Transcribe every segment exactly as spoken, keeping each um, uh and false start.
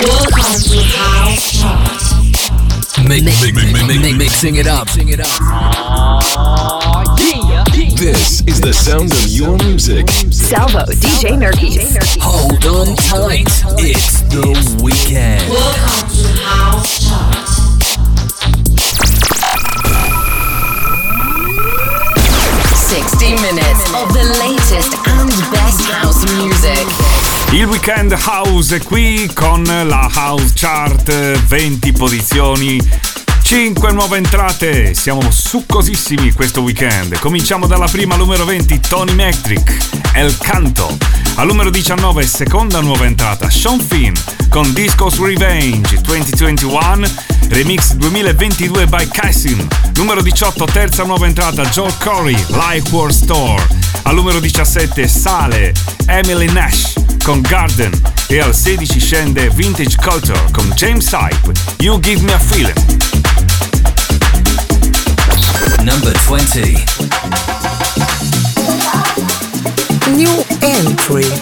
Welcome to House Chart. Mix, mix, mix, mix, mix, mixing it up. Mixing it up. Oh, yeah. This is the sound of your music. Salvo, D J Nerkis. Hold on tight. It's the weekend. Welcome to House Chart. sixty minutes of the latest and best house music. Il Weekend House è qui con la House Chart, venti posizioni, cinque nuove entrate. Siamo succosissimi questo weekend. Cominciamo dalla prima, numero venti, Tony Metric, El Canto. Al numero diciannove, seconda nuova entrata, Sean Finn con Disco's Revenge duemilaventuno, remix duemilaventidue by Cassim. Numero diciotto, terza nuova entrata, Joel Corey, Life War Store. Al numero diciassette sale Emily Nash con Garden e al sedici scende Vintage Culture con James Hype, You Give Me a Feeling. Number twenty. New entry.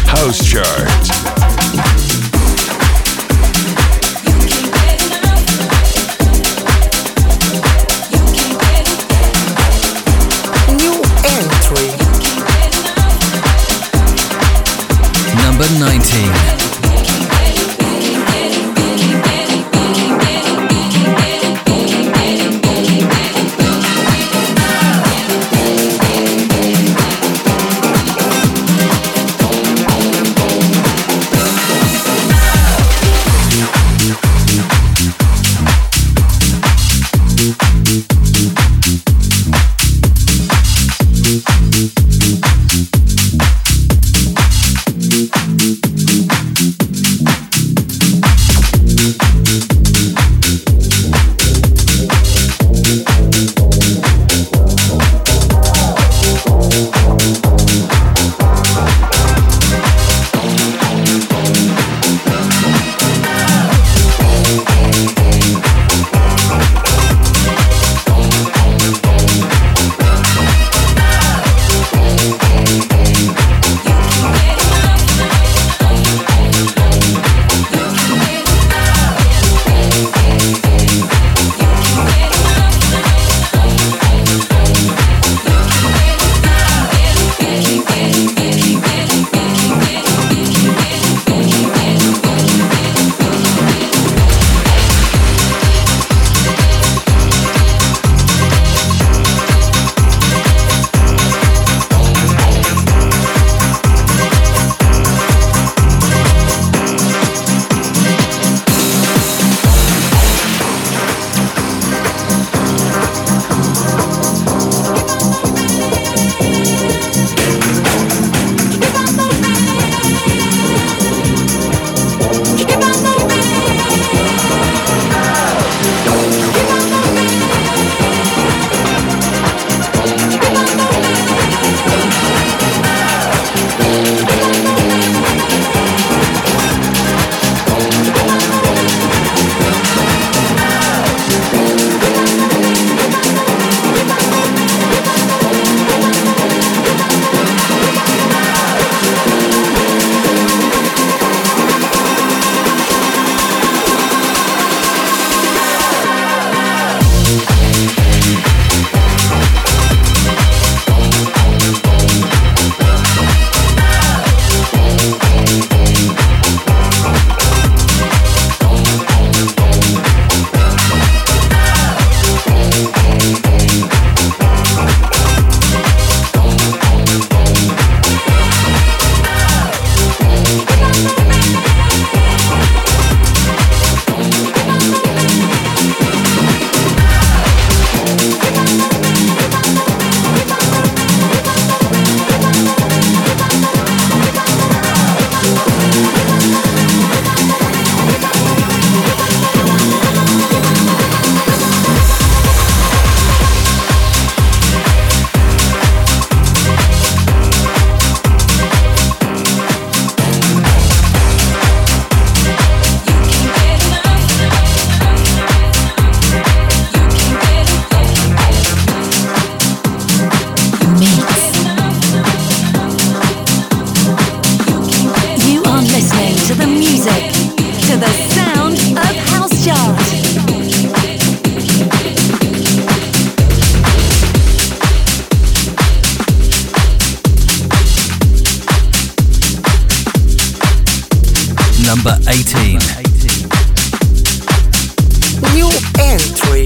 House Chart. Number nineteen. Number eighteen. New entry.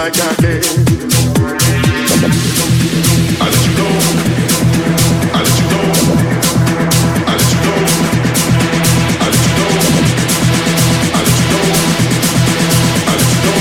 like I can. I let you know. I let you know. I let you know. I let you know. I let you know. I let you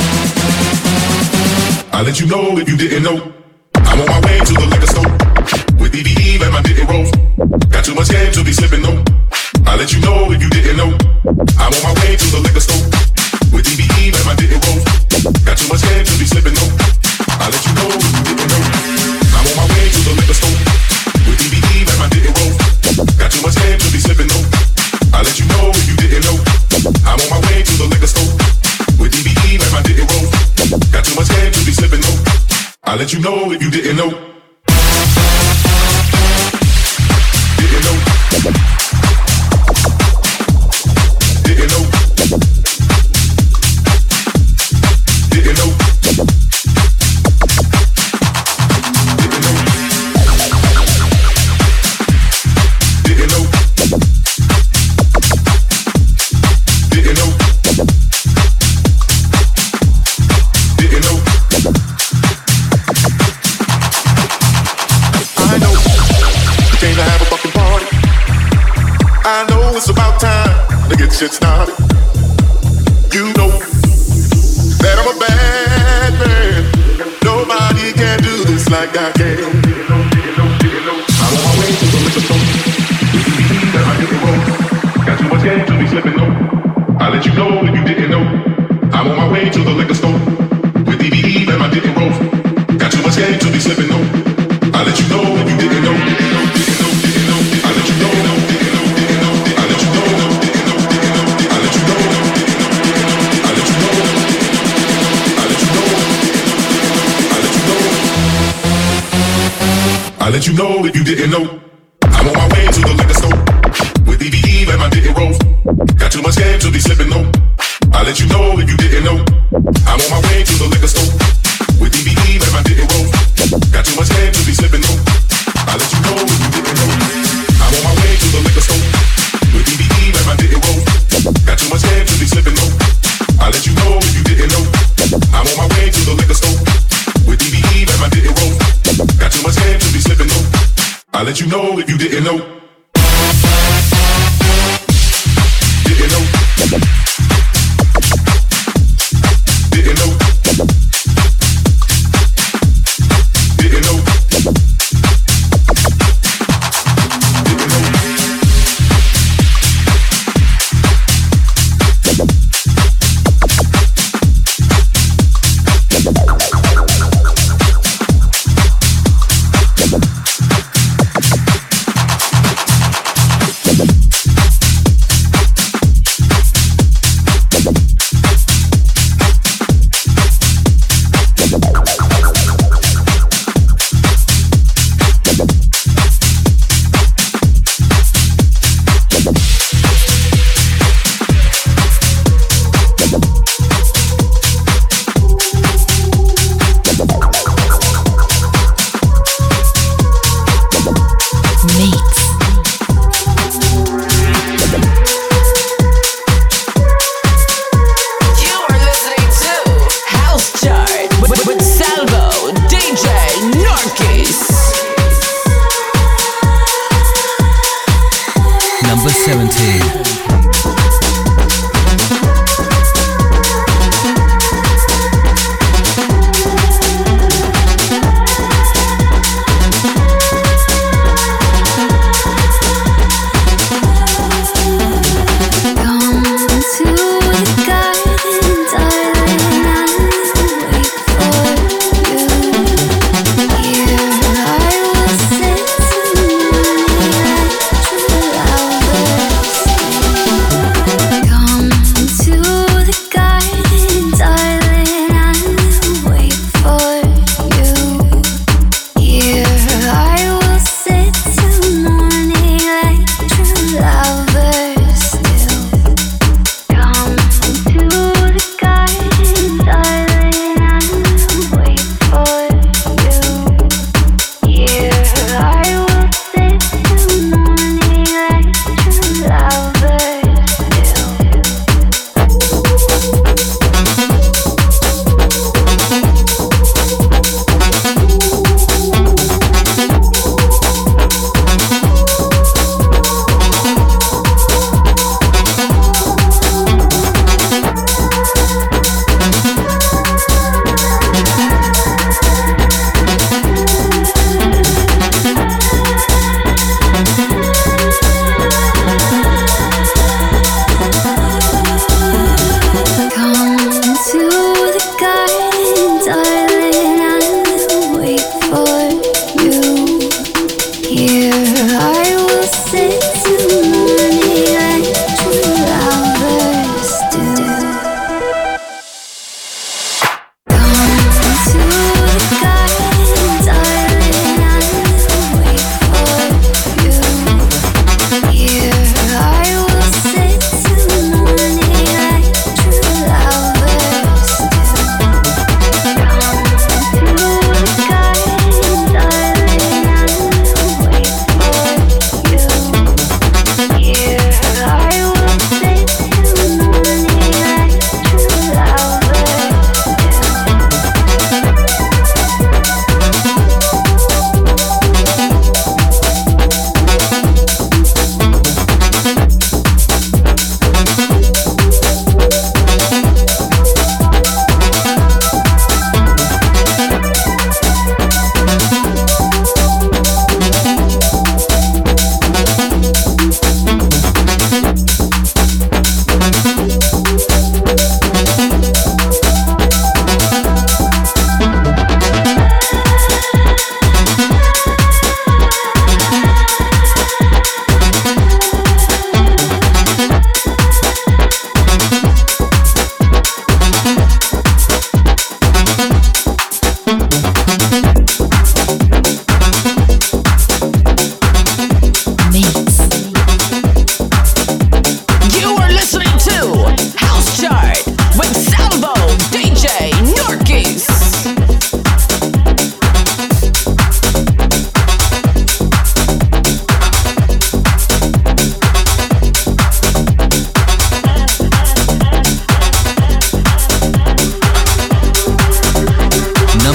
know. I let you know if you didn't know. I'm on my way to the liquor store with D V E and my dick rolls. Got too much game to be slipping though. I let you know if you didn't know. I'm on my way to the liquor store with D V E and my dick rolls. Got too much game to be slipping though. I let you know if you didn't know. I'm on my way to the liquor store with D V E and my dick rolls. Got too much game to be slipping though. I let you know if you didn't know. I'm on my way to the liquor store with D V E and my dick rolls. Got too much game to be slipping though. I let you know if you didn't know. Didn't know. Didn't know. Didn't know. Didn't know. Didn't know. Didn't know. Didn't know. I know you came to have a fucking party. I know it's about time to get shit started. You know that I'm a bad man. Nobody can do this like I can. I'm on my way to the liquor store. That I hit the road. Got too much game to be slipping though. I let you know if you didn't know. I'm on my way to the liquor store with D V E and my dick rolls. Got too much game to be slipping though. I let you know if you didn't know. Didn't know, didn't know, didn't know. I let you know. Didn't know, didn't know. I let you know. Didn't know, didn't know. I let you know. I let you know. I let you know. I let you know. I let you know if you didn't know. I'm on my way to the liquor store with D V E and my dick rolls. Got too much game to be slipping though. I let you know if you didn't know. I'm on my way to the liquor store with D V E and my dick rolls. Got too much game to be slipping though. I let you know if you didn't know. I'm on my way to the liquor store with D V E and my dick rolls. Got too much game to be slipping though. I let you know if you didn't know. I'm on my way to the liquor store with D V E and my dick rolls. Got too much game to be slipping though. I let you know if you didn't know. Didn't know. Didn't know. Didn't know.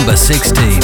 Number sixteen.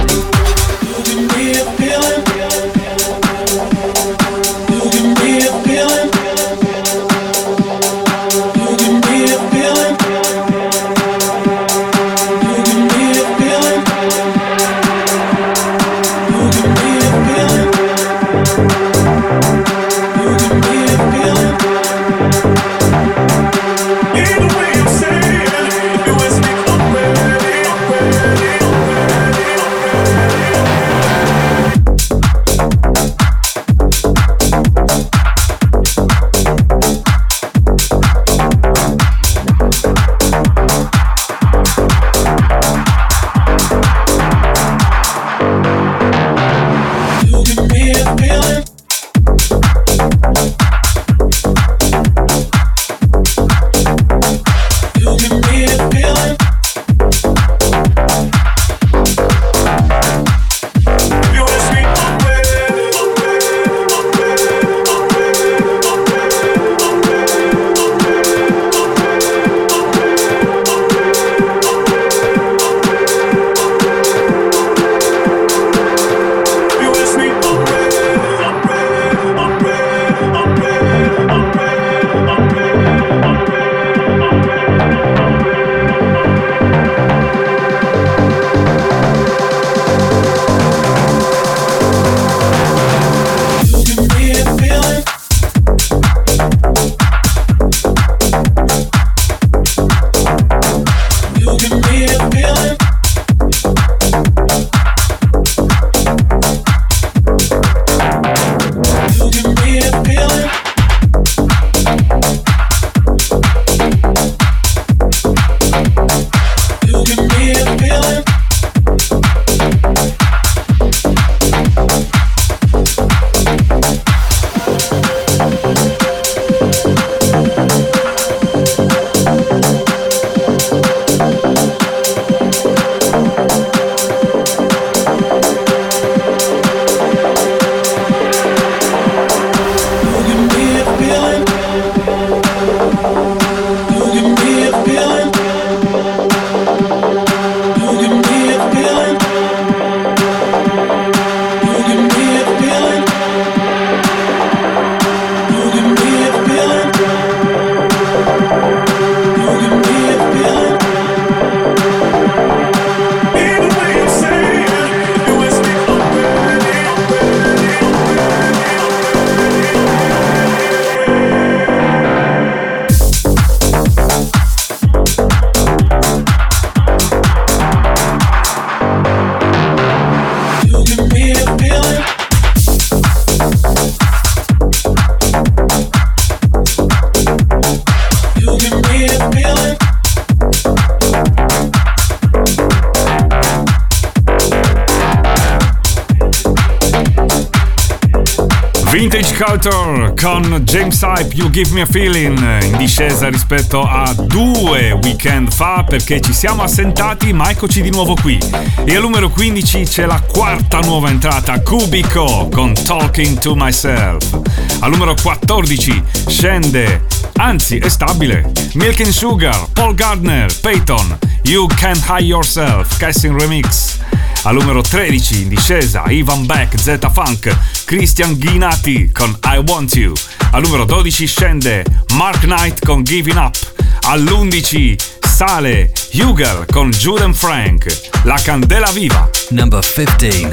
Vintage Culture con James Hype, You Give Me a Feeling, in discesa rispetto a due weekend fa perché ci siamo assentati, ma eccoci di nuovo qui. E al numero quindici c'è la quarta nuova entrata, Cubico con Talking to Myself. Al numero quattordici scende, anzi è stabile, Milk and Sugar, Paul Gardner, Peyton, You Can Hide Yourself, Casting Remix. Al numero tredici in discesa Ivan Beck, Z-Funk, Christian Ghinati con I Want You. Al numero dodici scende Mark Knight con Giving Up. All'undici sale Hugel con Jude and Frank, La Candela Viva. Number fifteen.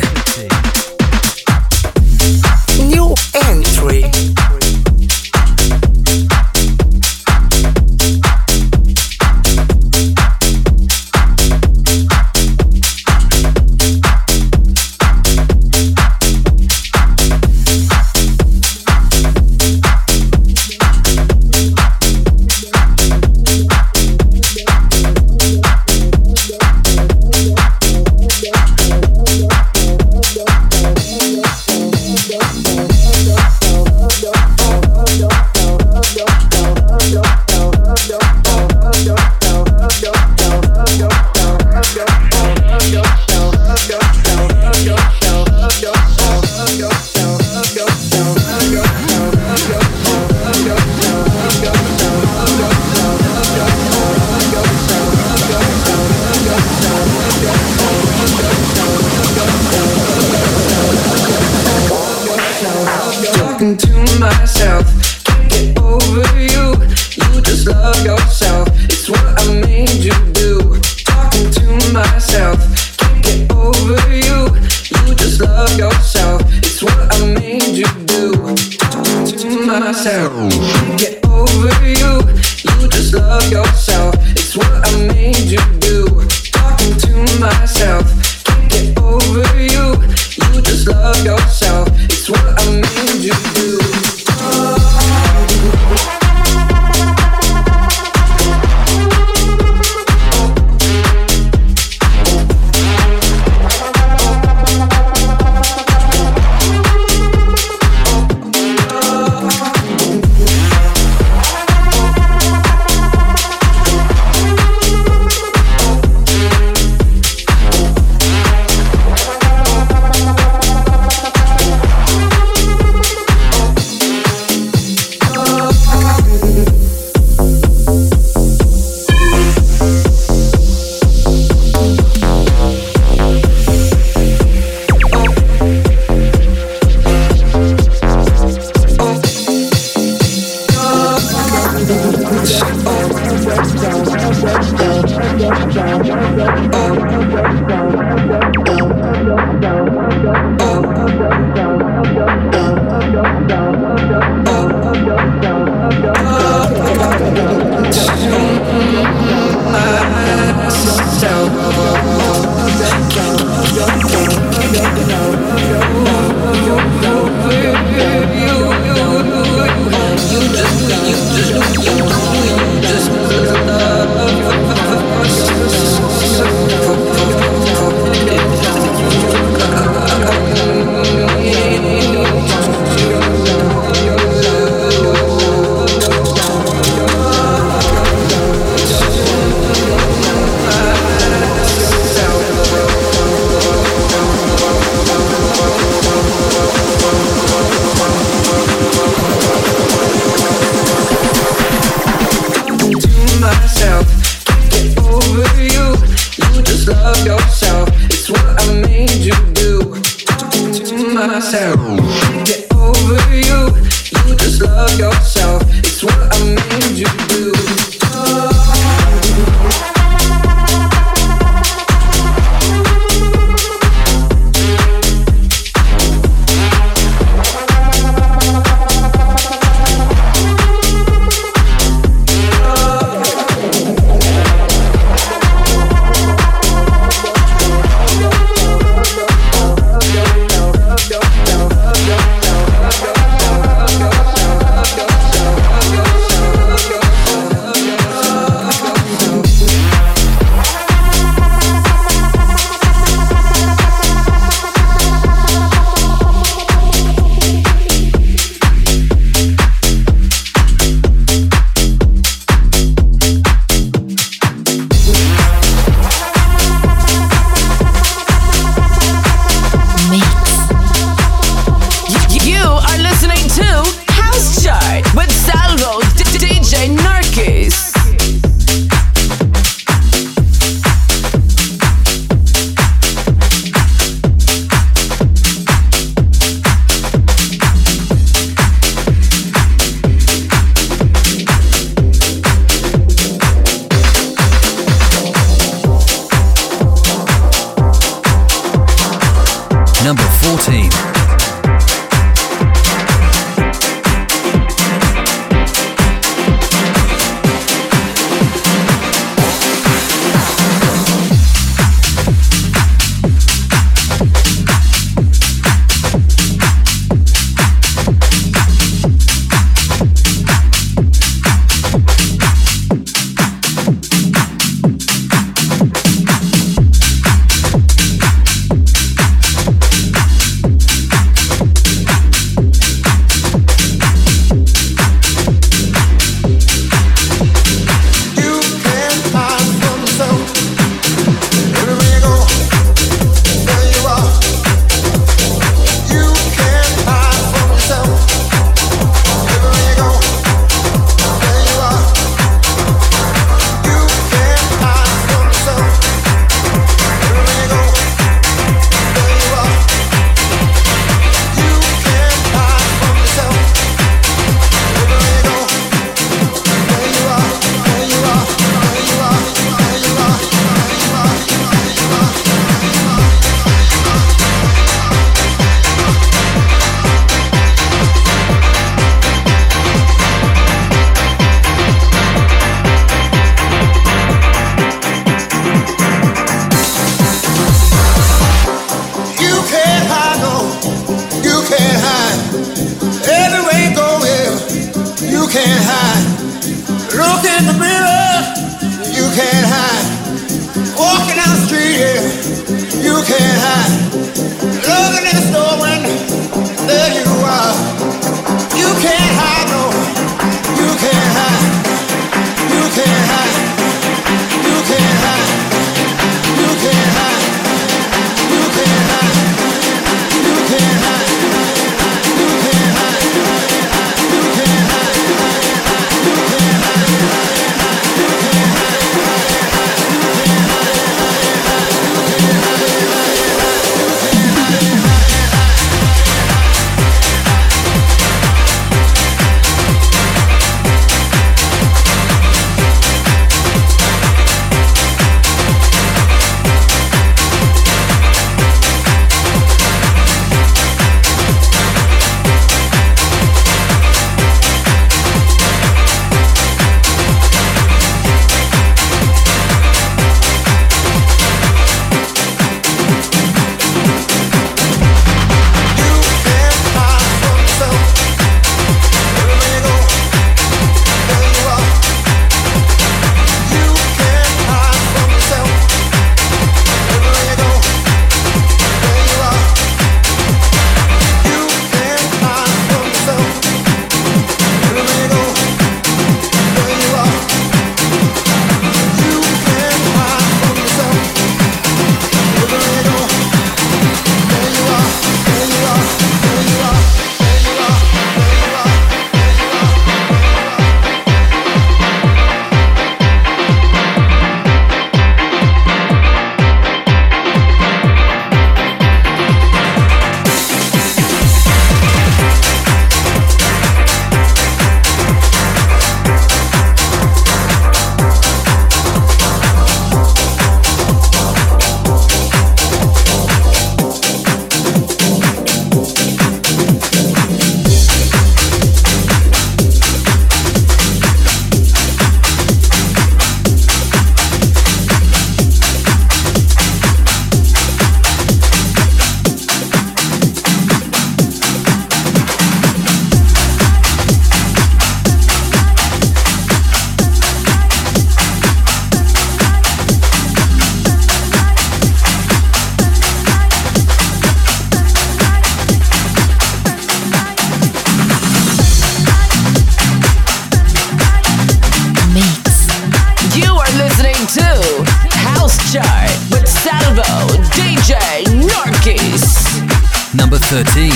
New entry. Go, go, go, go, go. myself. Can't get over you. You just love yourself. It's what I made you do. Talking to myself. Can't get over you. You just love yourself. It's what I made you do. Talking to myself. Can't get over you. You just love yourself. It's what I made you do. Talking to myself. Can't get over you. You just love yourself. It's what I made you do. can't hide. Walking down the street, yeah, you can't hide. Looking in the store when there you are. You can't hide, no, you can't hide. You can't hide. You can't hide. You can't hide. You can't hide. You can't hide. You can't hide. You can't hide. You can't hide. Number thirteen.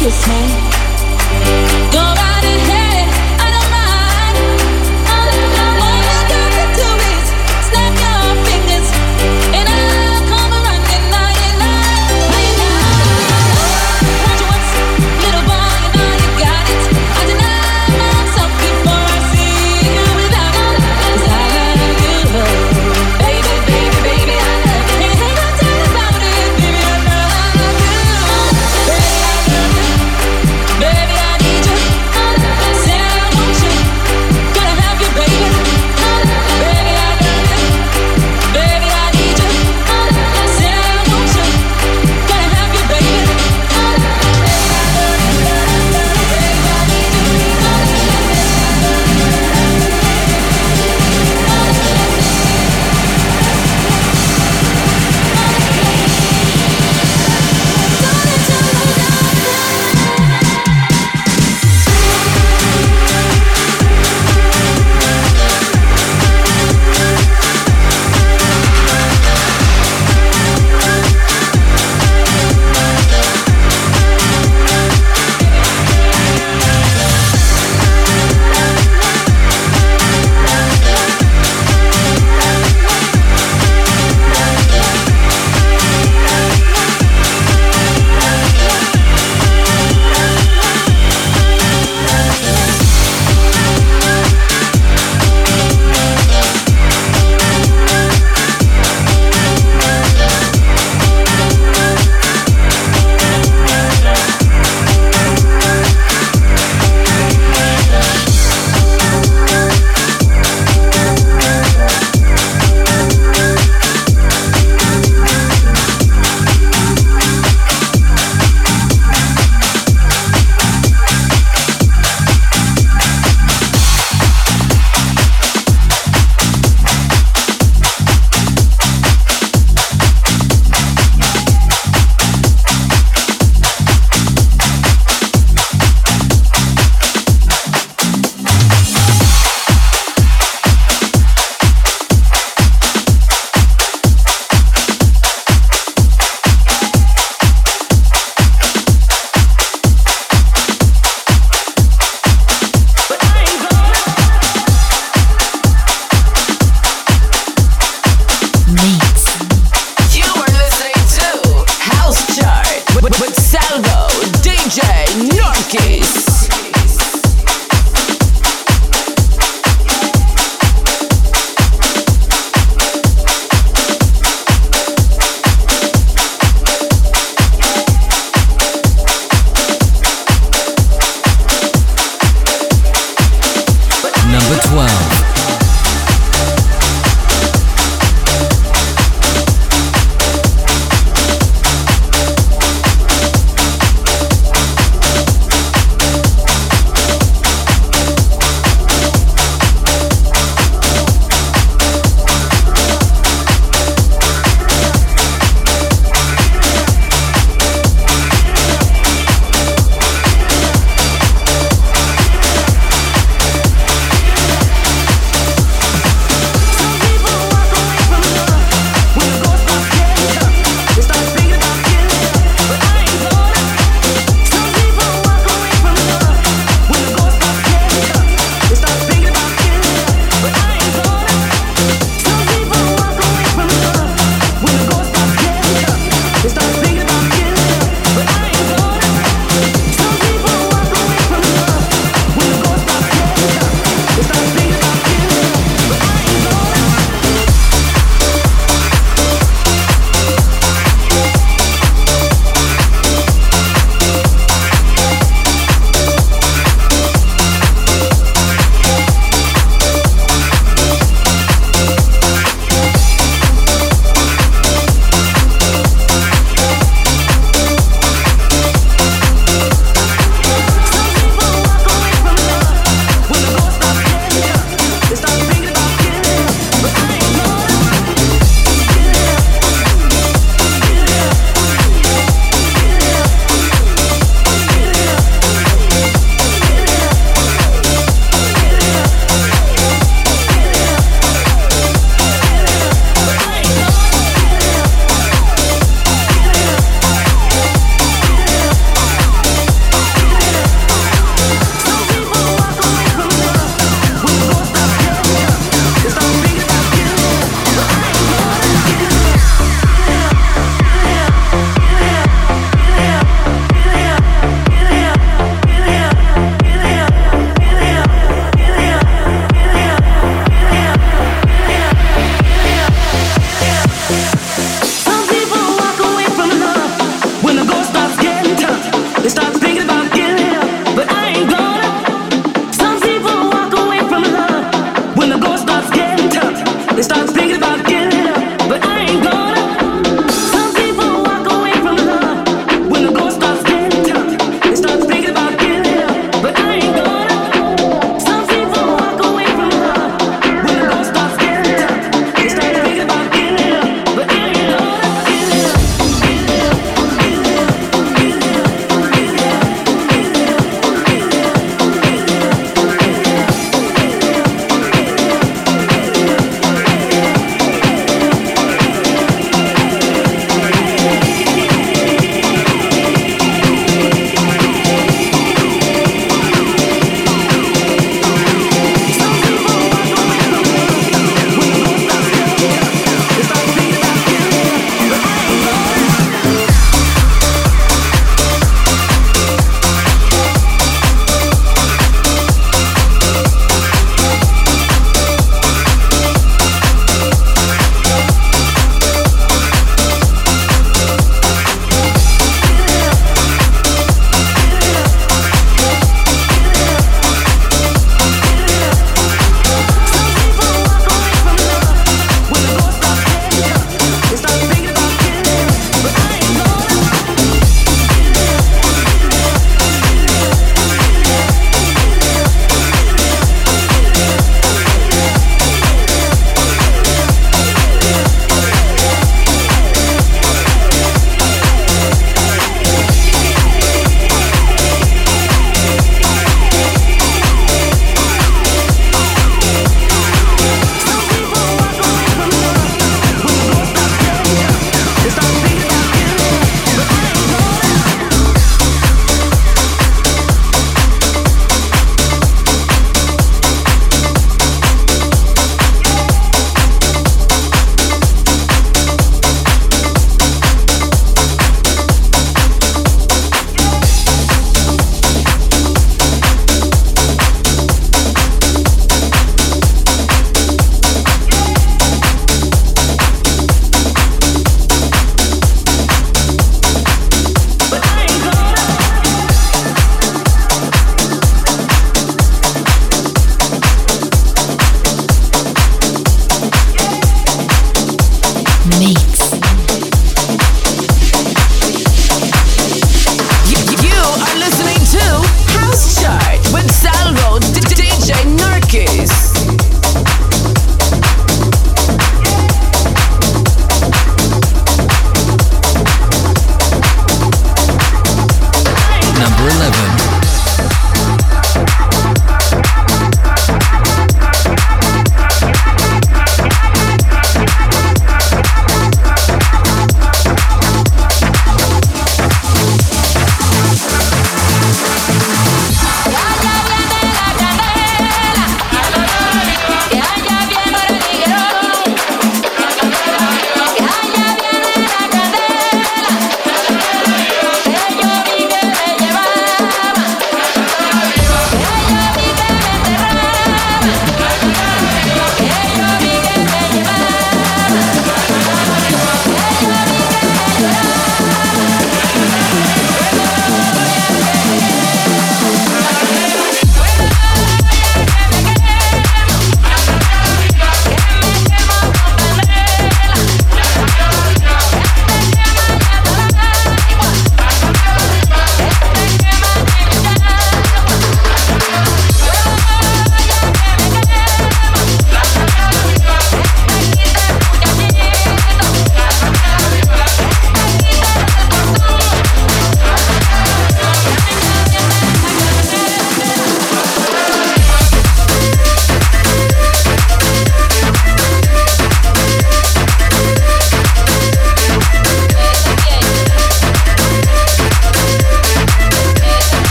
kiss me. Go right ahead, I don't mind. All you got to do is snap your fingers, and I'll come running. Now you know, now you know. Want you once, little boy, you know you got it. I deny myself before I see you without it. 'Cause I love you, baby, baby, baby, I love you. Ain't no doubt about it, baby, I love you. Baby, I need you. Say I want you. Gotta have you, baby. Baby, I love you. Baby, I need you. Say I want you. Gotta have you, baby.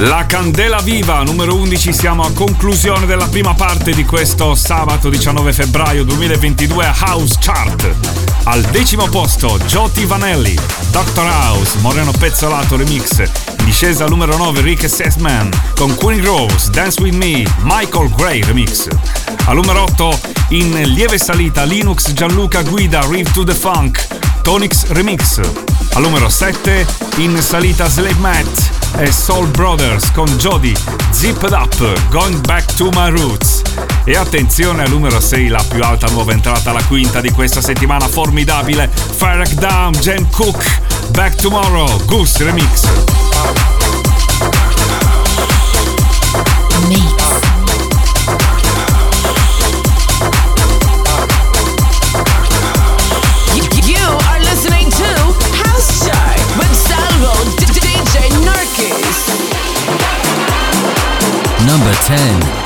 La candela viva, numero undici, siamo a conclusione della prima parte di questo sabato diciannove febbraio duemilaventidue House Chart. Al decimo posto Joti Vanelli, doctor House, Moreno Pezzolato remix. In discesa al numero nove Rick Sessman con Queen Rose, Dance With Me, Michael Gray remix. Al numero otto in lieve salita Linux Gianluca Guida, Riff to the Funk, Tonix remix. Al numero sette in salita Slave Matt e Soul Brothers con Jody, Zipped Up, Going Back to My Roots. E attenzione al numero sei, la più alta nuova entrata, la quinta di questa settimana formidabile, Farrah Down, Jen Cook, Back Tomorrow, Goose remix. Mix. Number ten.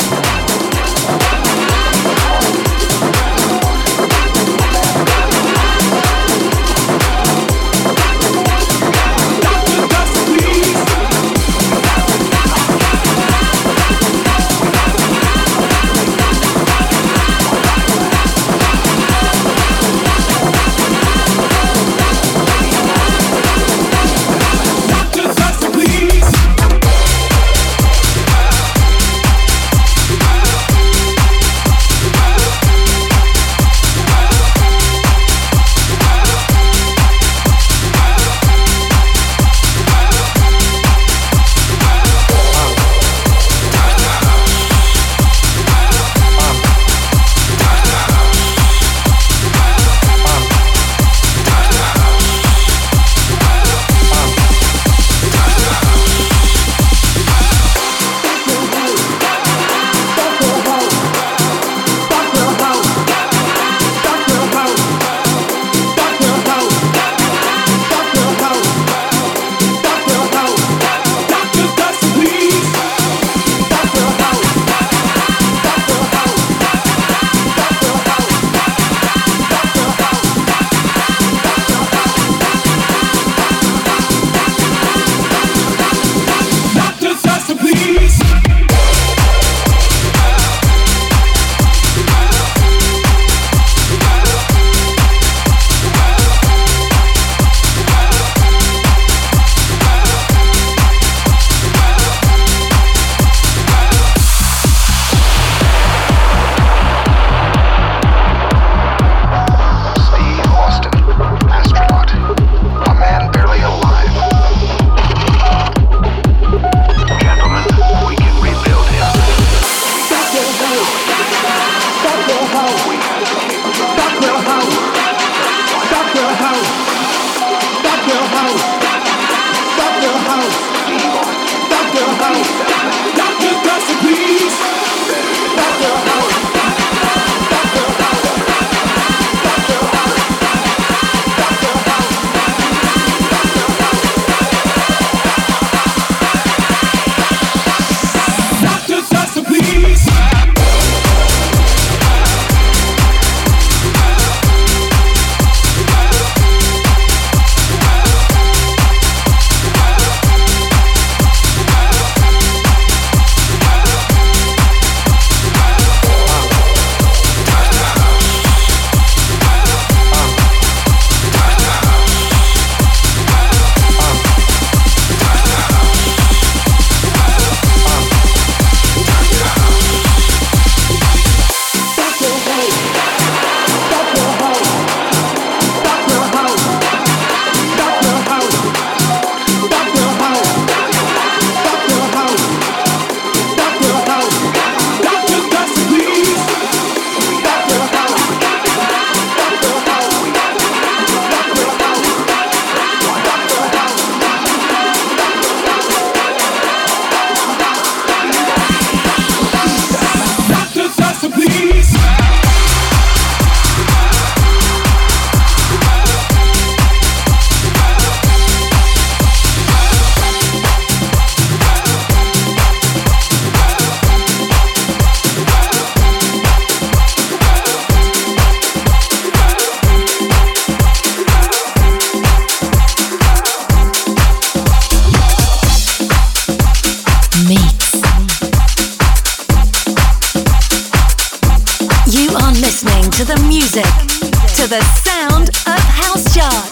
are listening to the music, to the sound of House Chart.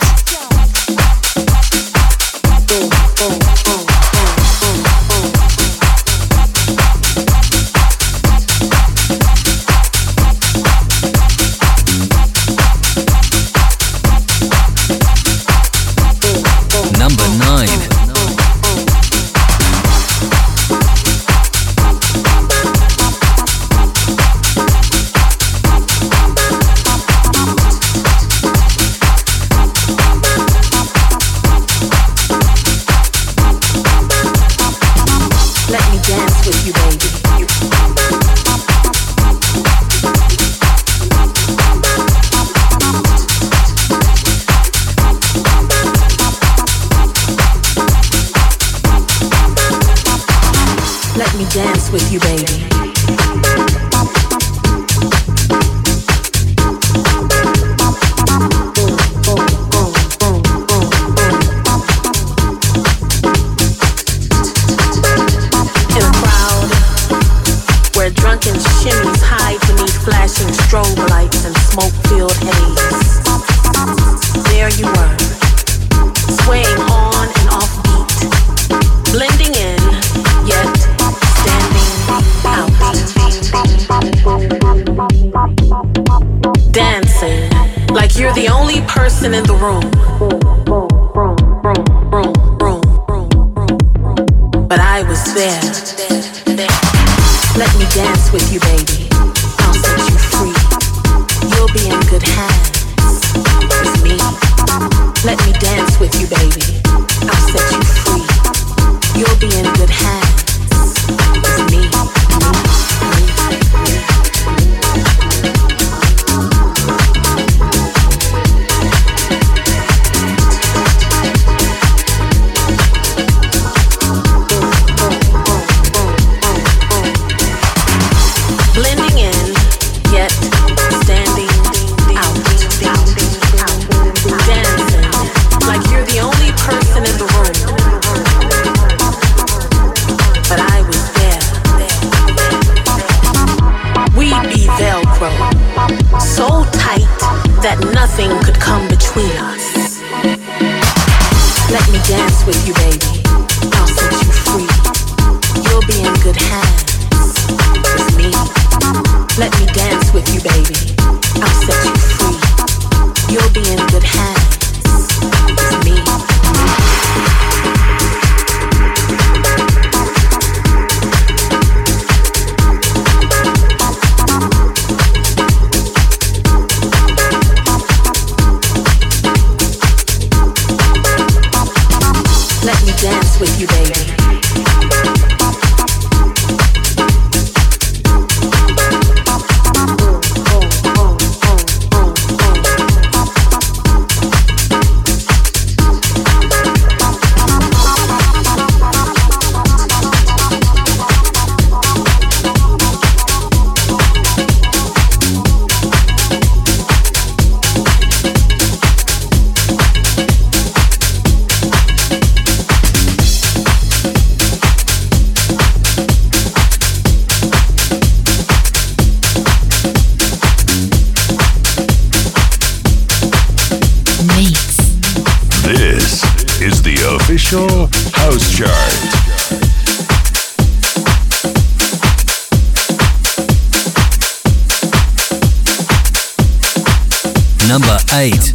Number nine. Dance with you, baby. In a crowd where drunken shimmies hide beneath flashing strobe lights and smoke-filled haze, there you were, swaying on and off beat, blending in, yet dancing like you're the only person in the room. But I was there. Let me dance with you, baby. I'll set you free. You'll be in good hands with me. Let me dance with you, baby. I'll set you free. You'll be in good hands with me. Blending in, yet standing out. Dancing like you're the only person in the room. But I was there. We'd be Velcro, so tight that nothing could come between us. Let me dance with you, baby. I'll set you free. You'll be in good hands with me. Let me dance with you, baby. I'll set you free. You'll be in good hands with me. Let me dance with you, baby. Official House Chart. Number eight.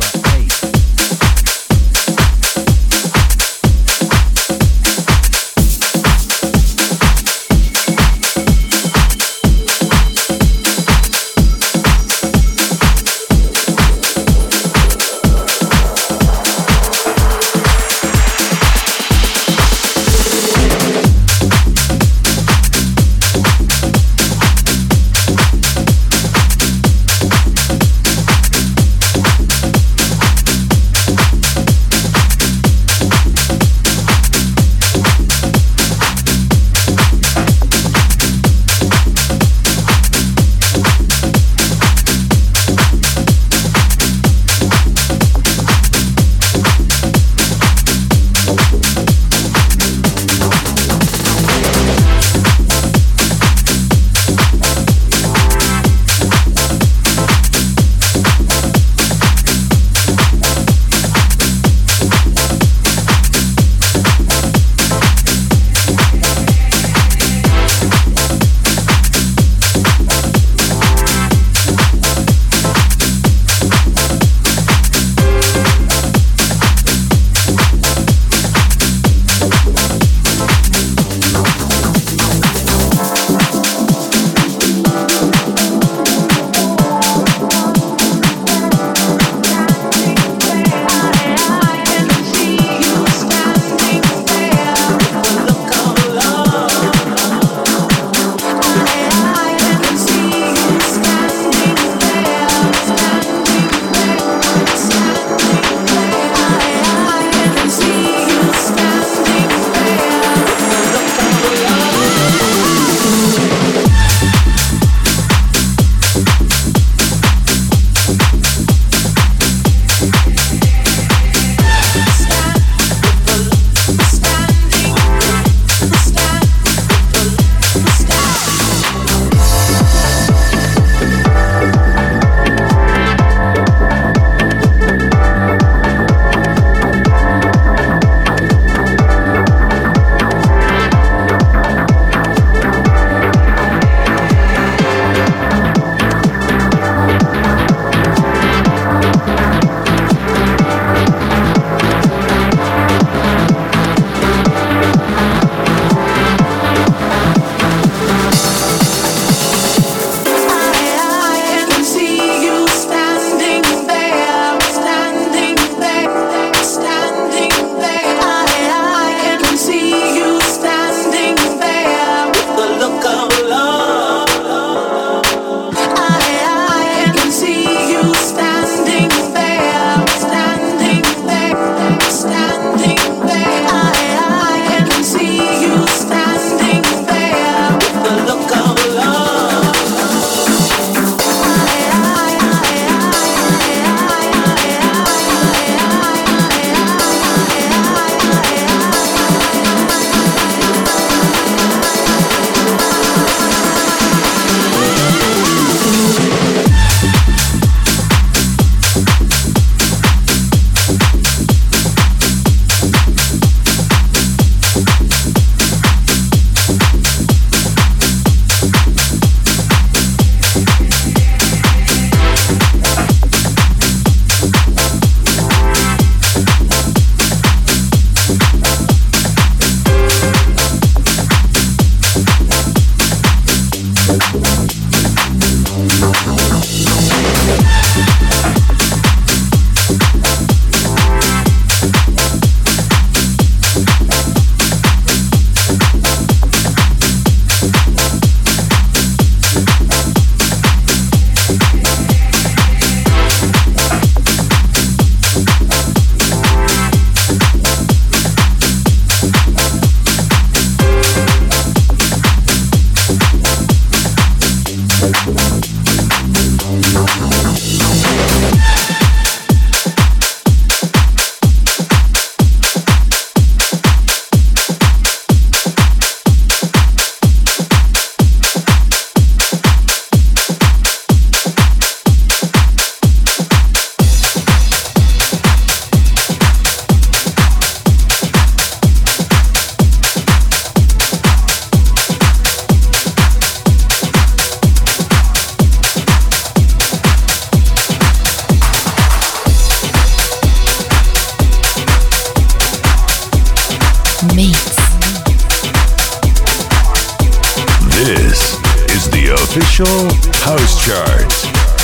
official house chart.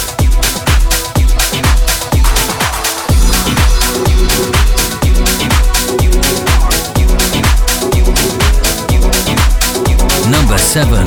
Number seven.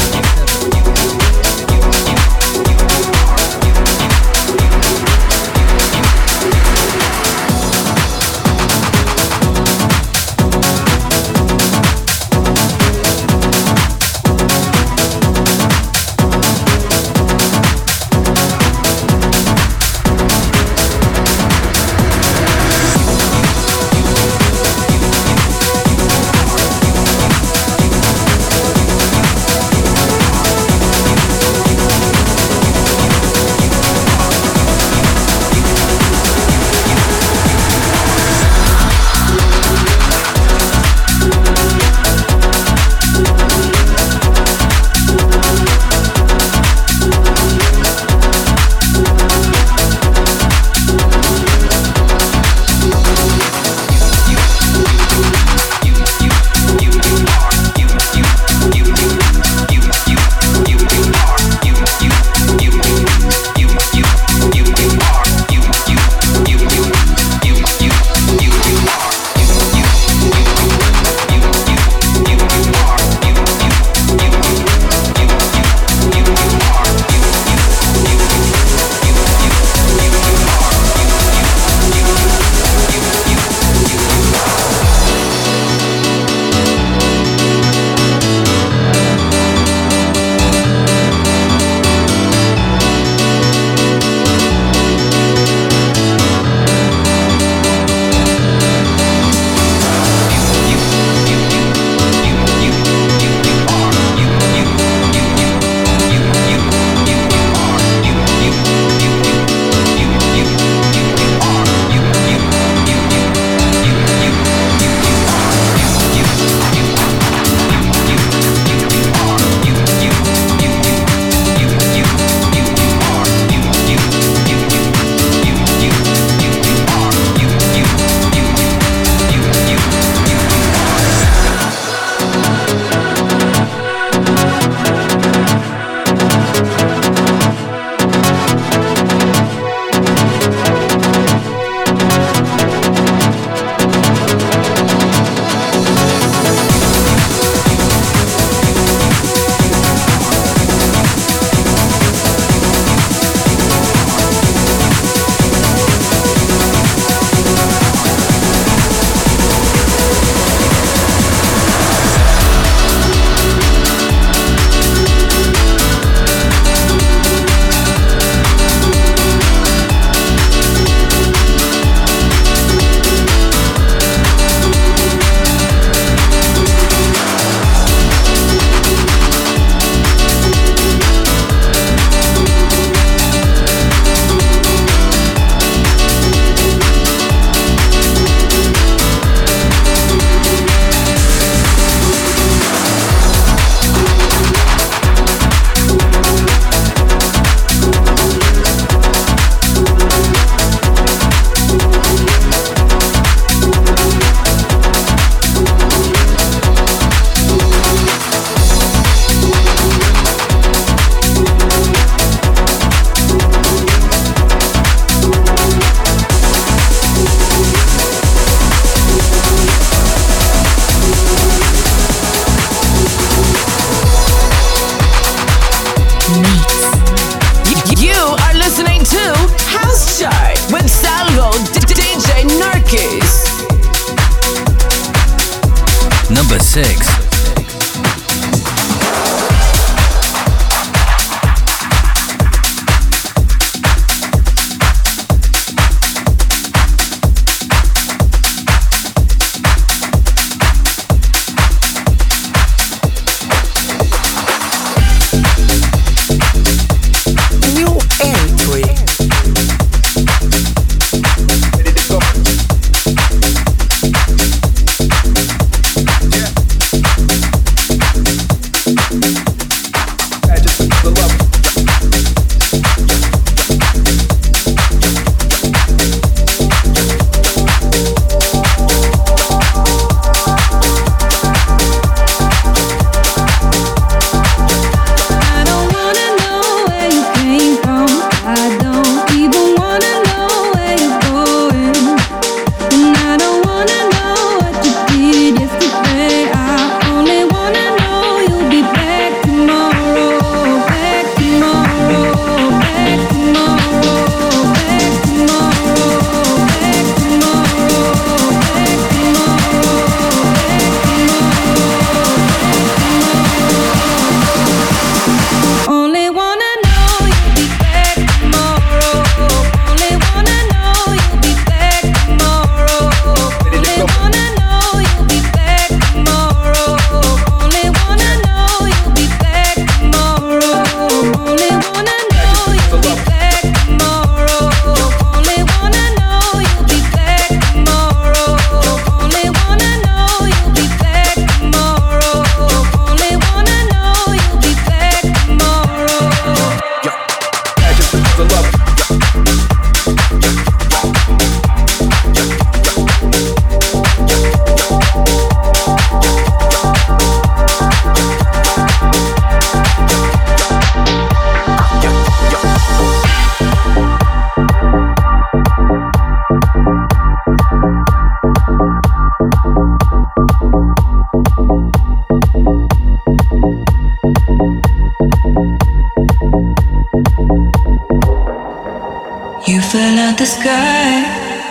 You fell out the sky,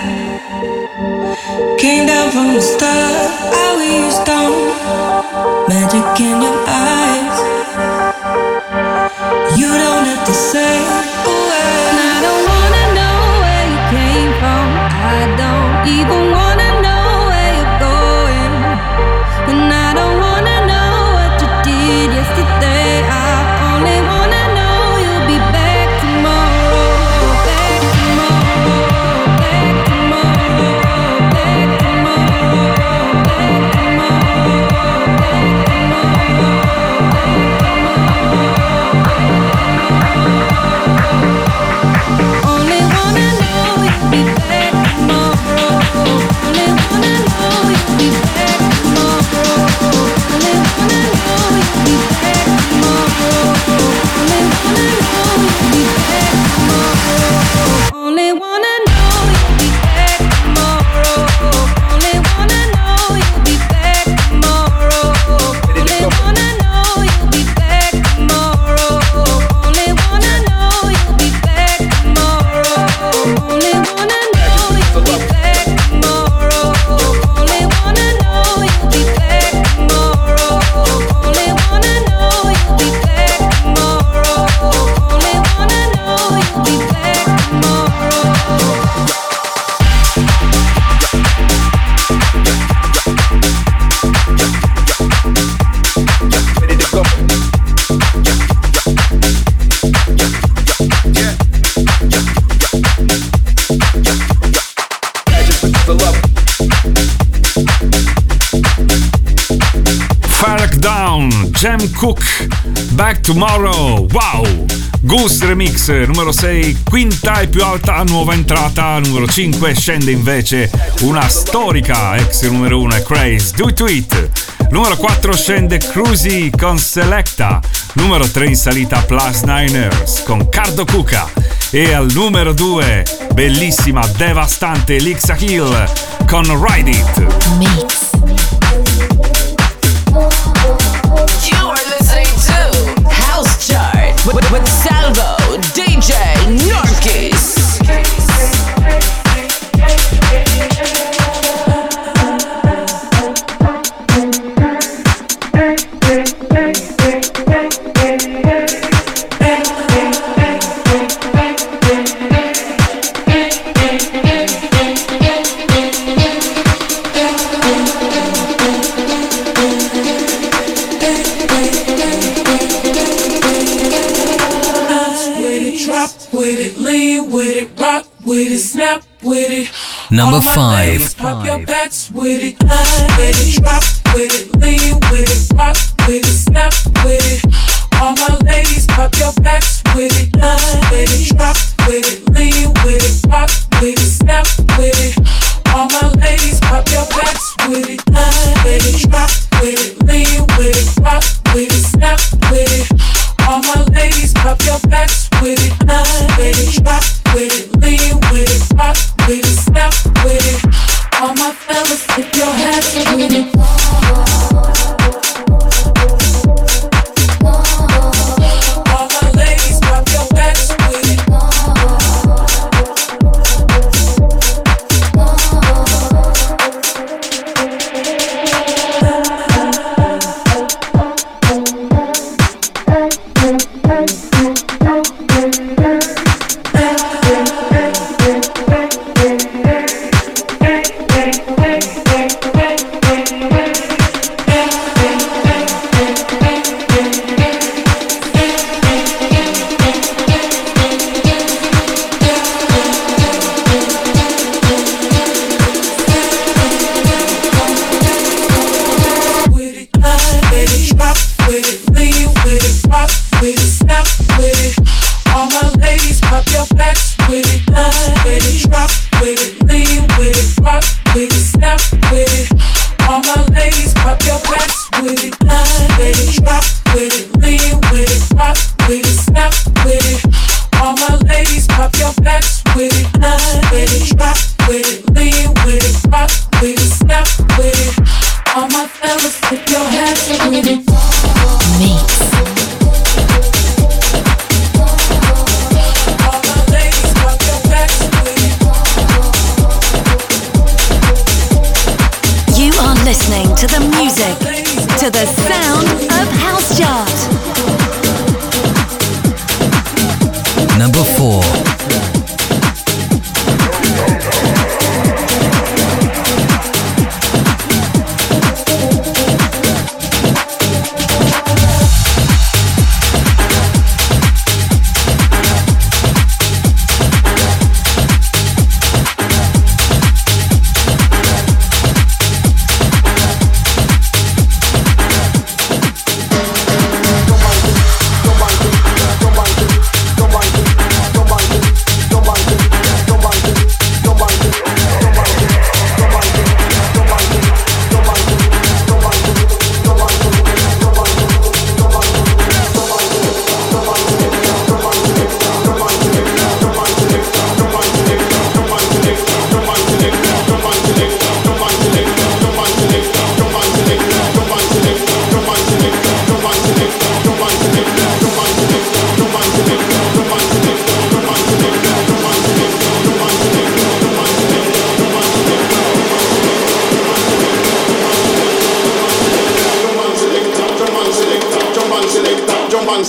came down from the stars. I we you stone, magic in your eyes. You don't have to say a word. And I don't wanna know where you came from. I don't even wanna know where you're going. And I don't wanna know what you did yesterday. I only wanna know you'll be back tomorrow. Back tomorrow. Back tomorrow. Back tomorrow. Back tomorrow. Only wanna know you'll be back tomorrow. Only wanna know you'll be back tomorrow. Only wanna know you'll be back tomorrow. Only wanna know you'll be back tomorrow. Only wanna know you'll be back tomorrow. Only wanna know you'll be back tomorrow. Only wanna know you'll be back tomorrow. Only wanna know you'll be back tomorrow. Only wanna know you'll be back tomorrow. Only wanna know you'll be back tomorrow. Only wanna know you'll be back tomorrow. Only wanna know you'll be back tomorrow. Fark Down, Jam Cook, Back Tomorrow, wow! Goose Remix, numero sei, quinta e più alta nuova entrata, numero cinque scende invece una storica ex numero uno, Craze, Do It To It. Numero quattro scende Cruzy con Selecta, numero tre in salita Plus Niners con Cardo Cuca e al numero due, bellissima, devastante Lixa Hill con Ride It. Mix. You are listening to House Chart with, with Salvo, D J Norkis. Number five. Pop your backs with it, line with it, drop with it, lean with it, rock with it, snap with it. All my ladies, pop your backs with it, line with it, drop with it, lean with it, rock with it, snap with it. All my ladies, pop your backs with it, line with it, drop with it, lean with it, rock with it, snap with it. All my ladies, pop your backs with it, line with it, drop with it, lean with it, rock with it, snap with it. All my fellas, tip your hats with it. All my ladies, pop your backs with it. Mix.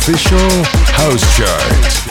official house chart.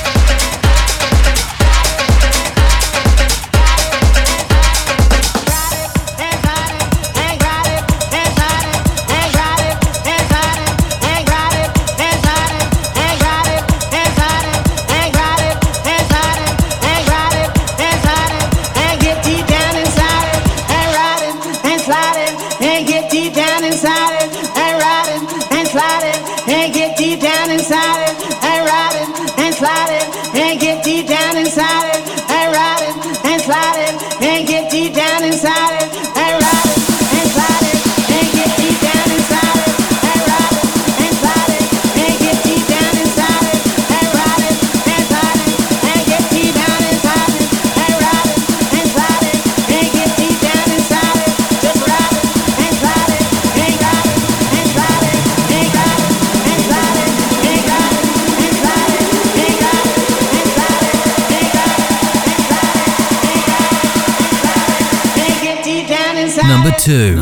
Number two.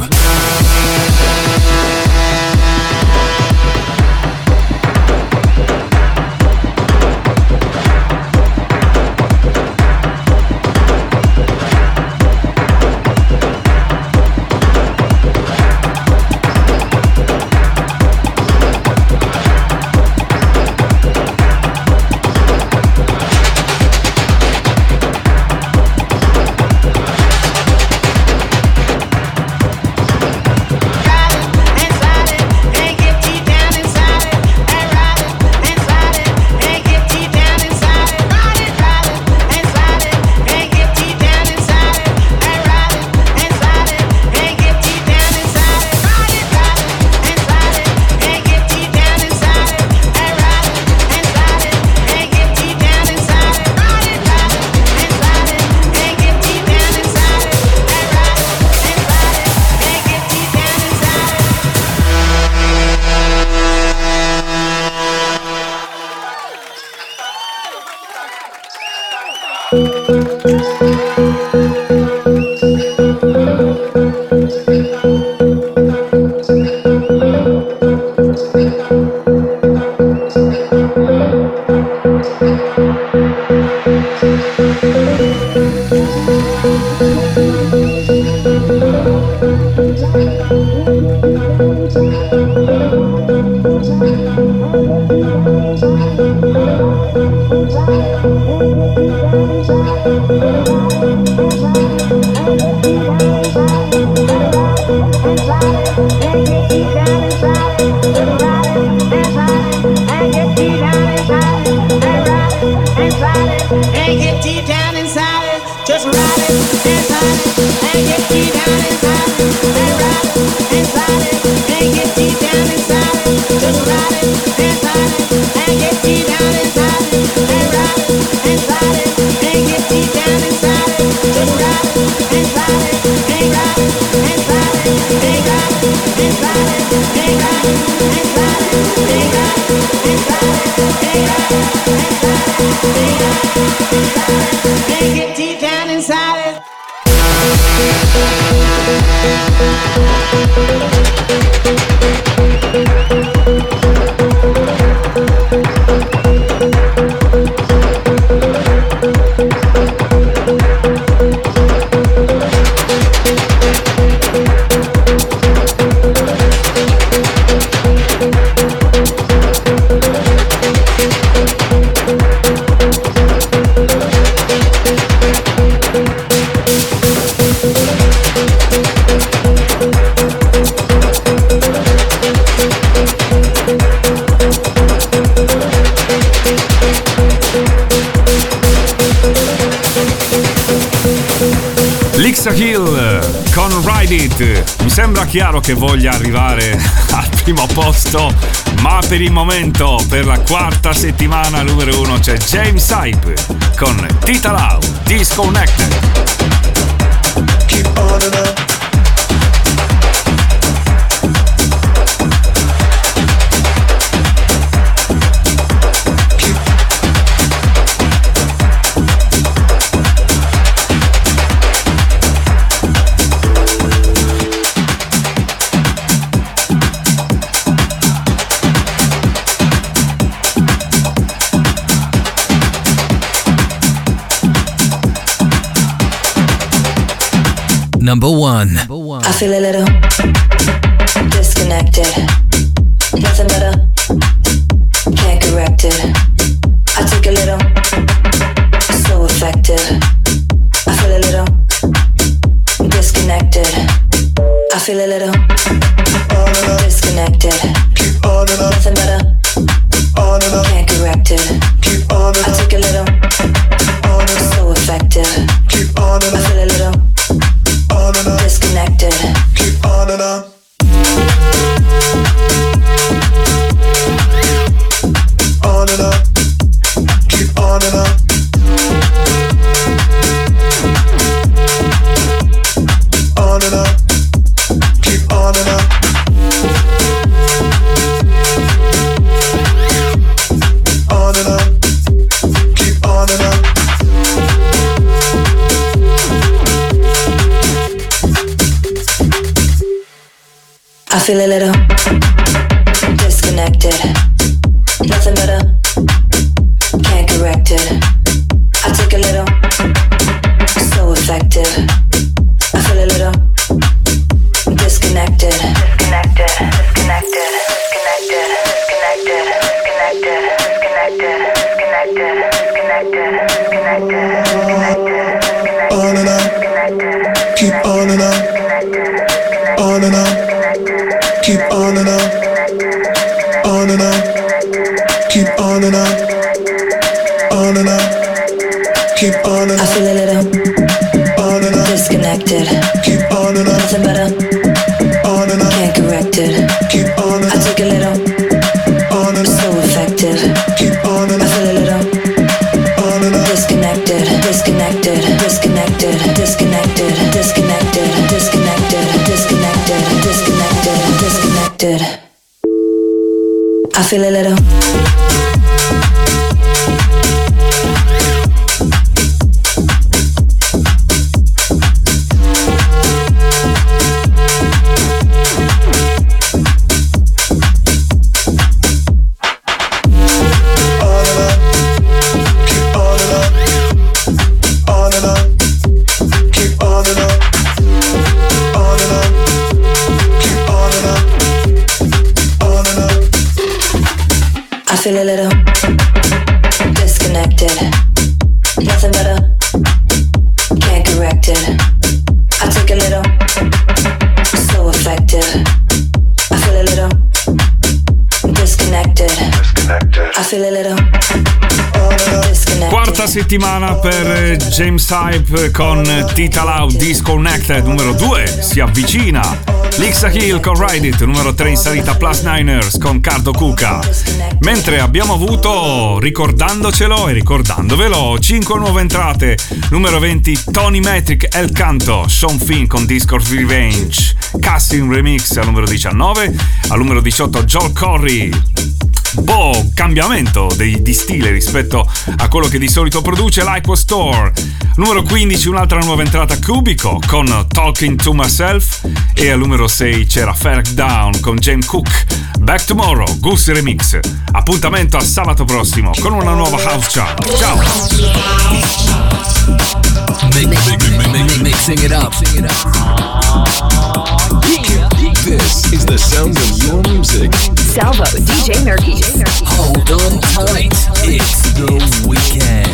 Lixa Hill con Ride It. Mi sembra chiaro che voglia arrivare al primo posto, ma per il momento, per la quarta settimana numero uno, c'è James Hype con Tita Lau, Disconnected. Keep on and up. number one. I feel a little disconnected. Nothing better, can't correct it. I take a little, so effective. I feel a little disconnected. I feel a little disconnected. Nothing better, can't correct it. I take a little, so effective. I feel a little disconnected. Keep on and on. On and on. Keep on and on. On and on. Keep on and on. On and on. Keep on and on. I feel a little disconnected. Nothing better, can't correct it. I take a little, so effective. I feel a little disconnected. Disconnected, disconnected, disconnected, disconnected, disconnected, disconnected, disconnected, disconnected, disconnected, disconnected. On and on. Keep on and on. On and on. Keep on and on. On and on. Keep on and on. On and on. Keep on and on. I feel a little on and on. Disconnected. Keep on and on. Nothing better. On and on. Can't correct it. Keep on and on. I take a little on and on. So effective. Keep on and on. I feel a little on and on. Disconnected. Disconnected. Disconnected. Disconnected. Disconnected. Disconnected. Disconnected. Disconnected. Disconnected. I feel a little I feel a little disconnected. Nothing better, can't correct it. I take a little, so effective. I feel a little disconnected. I feel a little disconnected. Quarta settimana per James Hype con Tita Lau, Disconnected. Numero due si avvicina Lixa Hill con Ride It. Numero tre in salita Plus Niners con Cardo Cuca. Mentre abbiamo avuto, ricordandocelo e ricordandovelo, cinque nuove entrate. Numero venti Tony Metric El Canto, Sean Finn con Discord Revenge, Casting Remix al numero diciannove. Al numero diciotto Joel Corry. Boh, cambiamento di, di stile rispetto a quello che di solito produce, Like Was Store. Numero quindici un'altra nuova entrata, Cubico con Talking to Myself. E al numero sei c'era Ferg Down con James Cook, Back Tomorrow, Goose Remix. Appuntamento a sabato prossimo con una nuova House Chart. Ciao! Mixing it up. This is the sound of your music. Salvo, D J Nerkis. Hold on tight. It's the weekend.